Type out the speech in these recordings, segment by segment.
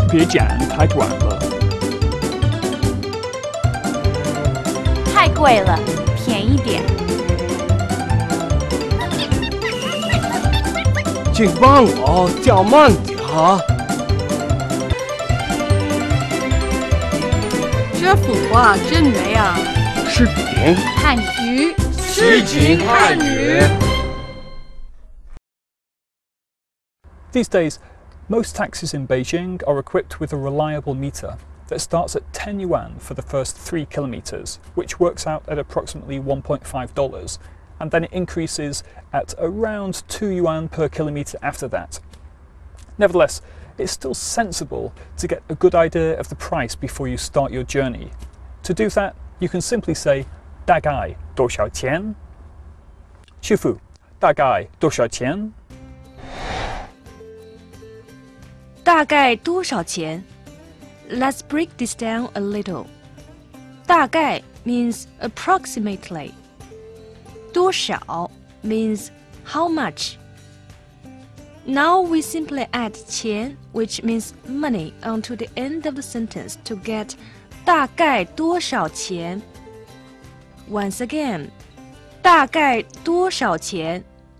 别讲太短了。 太贵了，便宜点。 请帮我叫慢点啊！ 这幅画真美啊！ 视频汉语诗情汉语。 These days, most taxis in Beijing are equipped with a reliable meter that starts at 10 yuan for the first 3 kilometers, which works out at approximately $1.5, and then it increases at around 2 yuan per kilometer after that. Nevertheless, it's still sensible to get a good idea of the price before you start your journey. To do that, you can simply say 大概多少钱？师傅，大概多少钱？ 大概多少钱 ？Let's break this down a little. 大概 means approximately. 多少 means how much. Now we simply add 钱, which means money, onto the end of the sentence to get 大概多少钱 Once again, 大概多少钱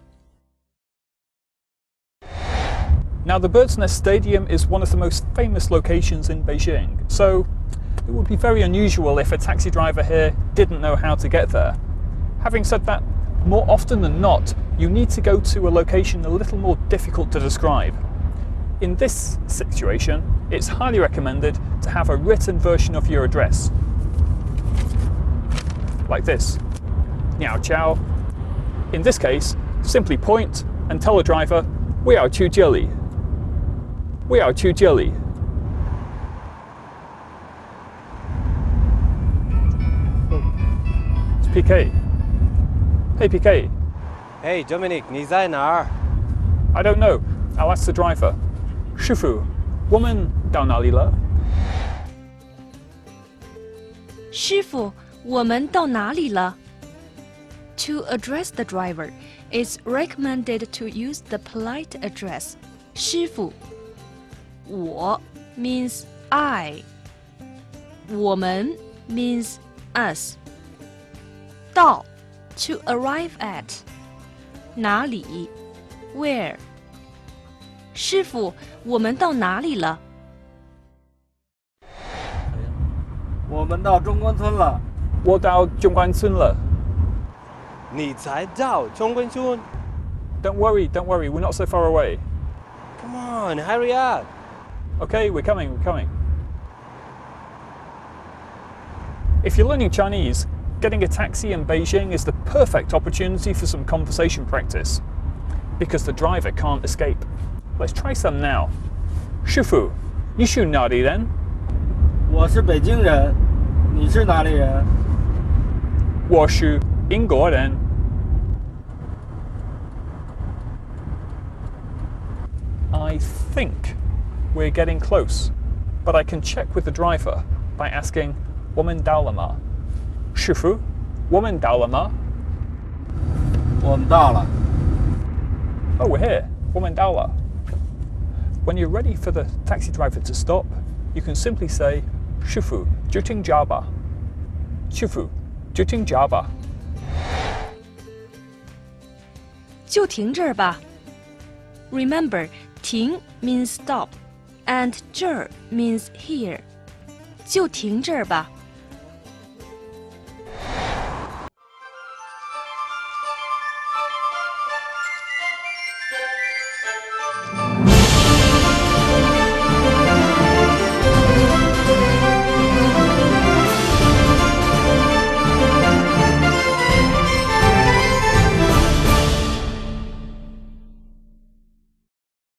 Now, the Bird's Nest Stadium is one of the most famous locations in Beijing, so it would be very unusual if a taxi driver here didn't know how to get there. Having said that, more often than not, you need to go to a location a little more difficult to describe. In this situation, it's highly recommended to have a written version of your address. Like this. Niao Chao. In this case, simply point and tell the driver, 我要去这里. 我要去这里. It's PK. Hey PK. Hey Dominic, 你在哪儿 I don't know. I'll ask the driver. 师傅，我们到哪里了？ 师傅，我们到哪里了 To address the driver, it's recommended to use the polite address 师傅。我 means I. 我们 means us. 到 to arrive at. 哪里 where. 师傅，我们到哪里了？ 我们到中关村了。 我到中关村了。 你才到中关村 Don't worry, we're not so far away. Come on, hurry up. Okay, we're coming. If you're learning Chinese, getting a taxi in Beijing is the perfect opportunity for some conversation practice, because the driver can't escape. Let's try some now. 师傅，你是哪里人？ 我是北京人，你是哪里人？ 我是英国人。I think we're getting close, but I can check with the driver by asking 我们到了吗？师傅，我们到了吗？ 我们到了。 Oh, we're here. 我们到了。When you're ready for the taxi driver to stop, you can simply say 师傅，就停这吧。师傅，就停这吧。 就停这儿吧。Remember, 停 means stop, and 这儿 means here. 就停这儿吧。